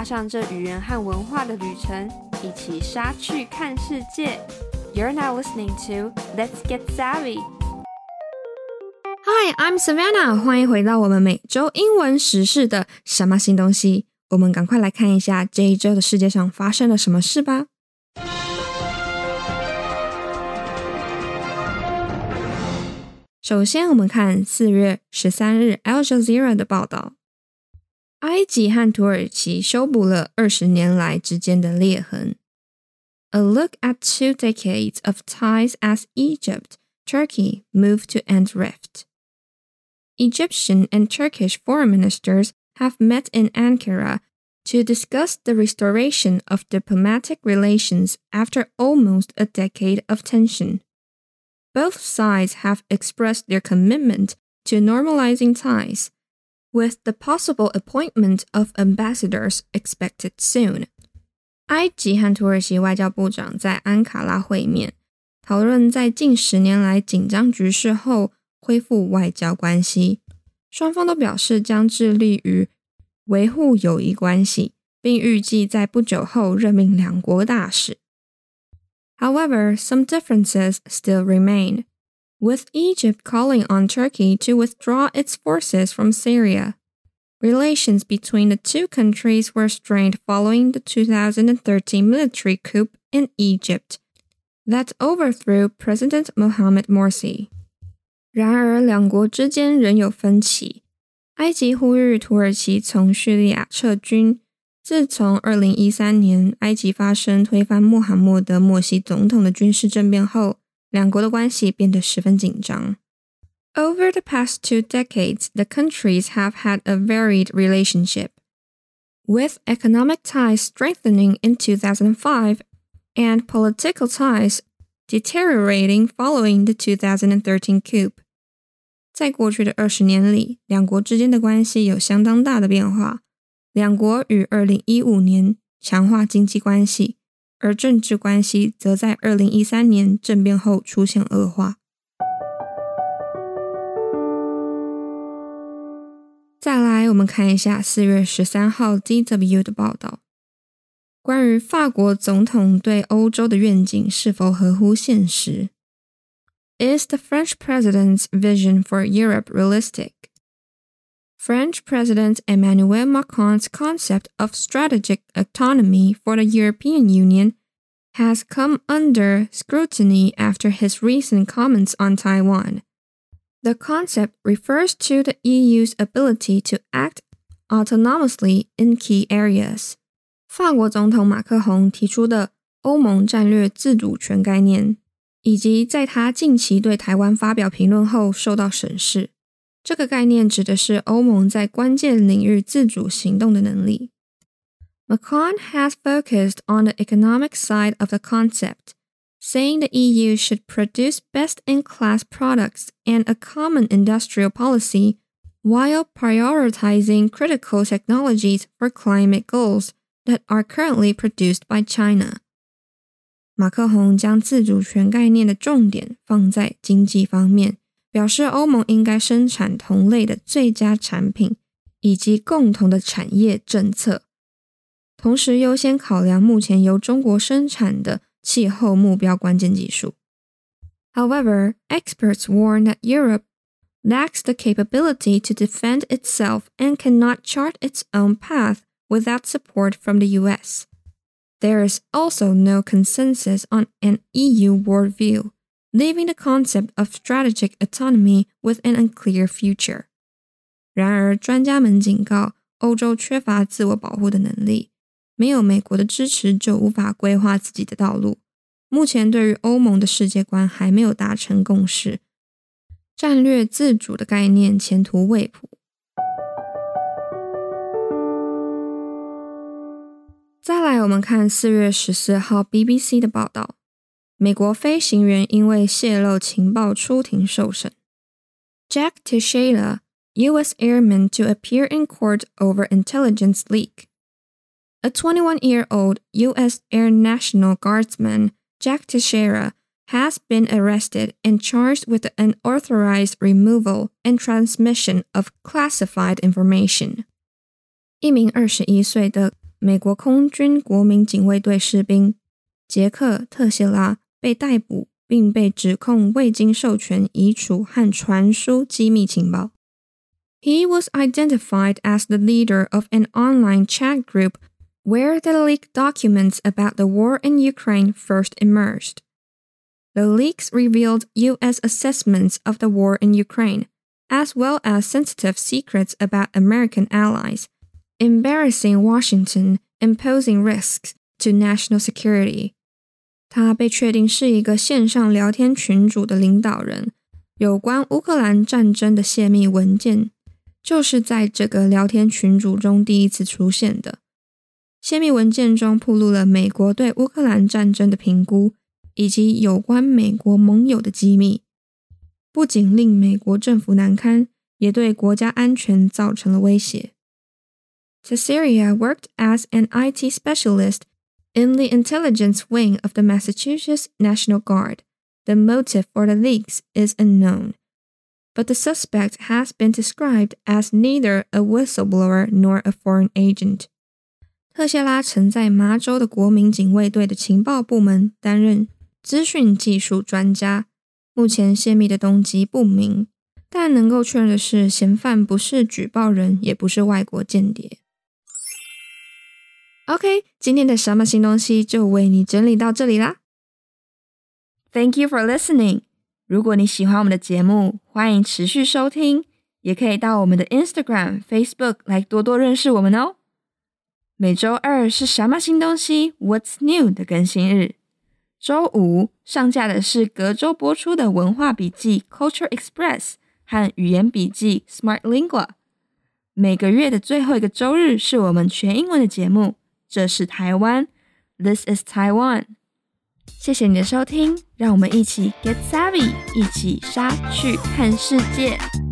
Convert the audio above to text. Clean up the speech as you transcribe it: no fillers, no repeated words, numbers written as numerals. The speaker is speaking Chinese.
上這語言和文化的旅程，一起莎去看世界。You're now listening to Let's Get Savvy. Hi, I'm Savannah. 歡迎回到我們每周英文時事的什麼新東西。我們趕快來看一下這一周的世界上發生了什麼事吧。首先，我們看4月13日 Al Jazeera 的報道。埃及和土耳其修補了20年來之間的裂痕。A look at 2 decades of ties as Egypt, Turkey move to end rift. Egyptian and Turkish foreign ministers have met in Ankara to discuss the restoration of diplomatic relations after almost a decade of tension. Both sides have expressed their commitment to normalizing ties, with the possible appointment of ambassadors expected soon. 埃及和土耳其外交部長在安卡拉會面，討論在近10年來緊張局勢後恢復外交關係。雙方都表示將致力於維護友誼關係，並預計在不久後任命兩國大使。However, some differences still remain, with Egypt calling on Turkey to withdraw its forces from Syria. Relations between the two countries were strained following the 2013 military coup in Egypt that overthrew President Mohamed Morsi. 然而，兩國之間仍有分歧。埃及呼籲土耳其從敘利亞撤軍。自從2013年埃及發生推翻穆罕默德·默西總統的軍事政變後，兩國的關係變得十分緊張。Over the past 2 decades, the countries have had a varied relationship, with economic ties strengthening in 2005 and political ties deteriorating following the 2013 coup. 在過去的20年裡，兩國之間的關係有相當大的變化。兩國於2015年強化經濟關係，而政治關係則在2013年政變後出現惡化。再來，我們看一下4月13號 DW 的報道，關於法國總統對歐洲的願景是否合乎現實。Is the French president's vision for Europe realistic?French President Emmanuel Macron's concept of strategic autonomy for the European Union has come under scrutiny after his recent comments on Taiwan. The concept refers to the EU's ability to act autonomously in key areas. 法國總統馬克宏提出的歐盟戰略自主權概念，以及在他近期對台灣發表評論後受到審視。這個概念指的是歐盟在關鍵領域自主行動的能力。Macron has focused on the economic side of the concept, saying the EU should produce best-in-class products and a common industrial policy while prioritizing critical technologies for climate goals that are currently produced by China. 馬克宏將自主權概念的重點放在經濟方面，表示歐盟應該生產同類的最佳產品，以及共同的產業政策，同時優先考量目前由中國生產的氣候目標關鍵技術。However, experts warn that Europe lacks the capability to defend itself and cannot chart its own path without support from the US. There is also no consensus on an EU worldview.Leaving the concept of strategic autonomy with an unclear future. 然而，專家們警告，歐洲缺乏自我保護的能力，沒有美國的支持就無法規劃自己的道路。目前對於歐盟的世界觀還沒有達成共識，戰略自主的概念前途未卜。再來，我們看4月14號 BBC 的報道。美國飛行員因為洩露情報出庭受審。Jack Teixeira, U.S. airman to appear in court over intelligence leak. A 21-year-old U.S. Air National Guardsman, Jack Teixeira, has been arrested and charged with the unauthorized removal and transmission of classified information. 一名21歲的美國空軍國民警衛隊士兵傑克·特謝拉被逮捕，並被指控未經授權移除和傳輸機密情報。He was identified as the leader of an online chat group where the leaked documents about the war in Ukraine first emerged. The leaks revealed U.S. assessments of the war in Ukraine, as well as sensitive secrets about American allies, embarrassing Washington, imposing risks to national security. 他被確定是一個線上聊天群組的領導人，有關烏克蘭戰爭的洩密文件，就是在這個聊天群組中第一次出現的。洩密文件中暴露了美國對烏克蘭戰爭的評估，以及有關美國盟友的機密，不僅令美國政府難堪，也對國家安全造成了威脅。Teixeira worked as an IT specialist in the intelligence wing of the Massachusetts National Guard. The motive for the leaks is unknown, but the suspect has been described as neither a whistleblower nor a foreign agent. 特謝拉曾在麻州的國民警衛隊的情報部門擔任資訊技術專家，目前洩密的動機不明，但能夠確認的是，嫌犯不是舉報人，也不是外國間諜。OK， 今天的什麼新東西就為你整理到這裡啦。Thank you for listening. 如果你喜歡我們的節目，歡迎持續收聽，也可以到我們的 Instagram、Facebook 來多多認識我們哦。每週二是什麼新東西 What's New 的更新日，週五上架的是隔週播出的文化筆記 Culture Express 和語言筆記 Smart Lingua。每個月的最後一個週日是我們全英文的節目，這是台灣 This is Taiwan。謝謝你的收聽，讓我們一起 Get Savvy， 一起莎去看世界。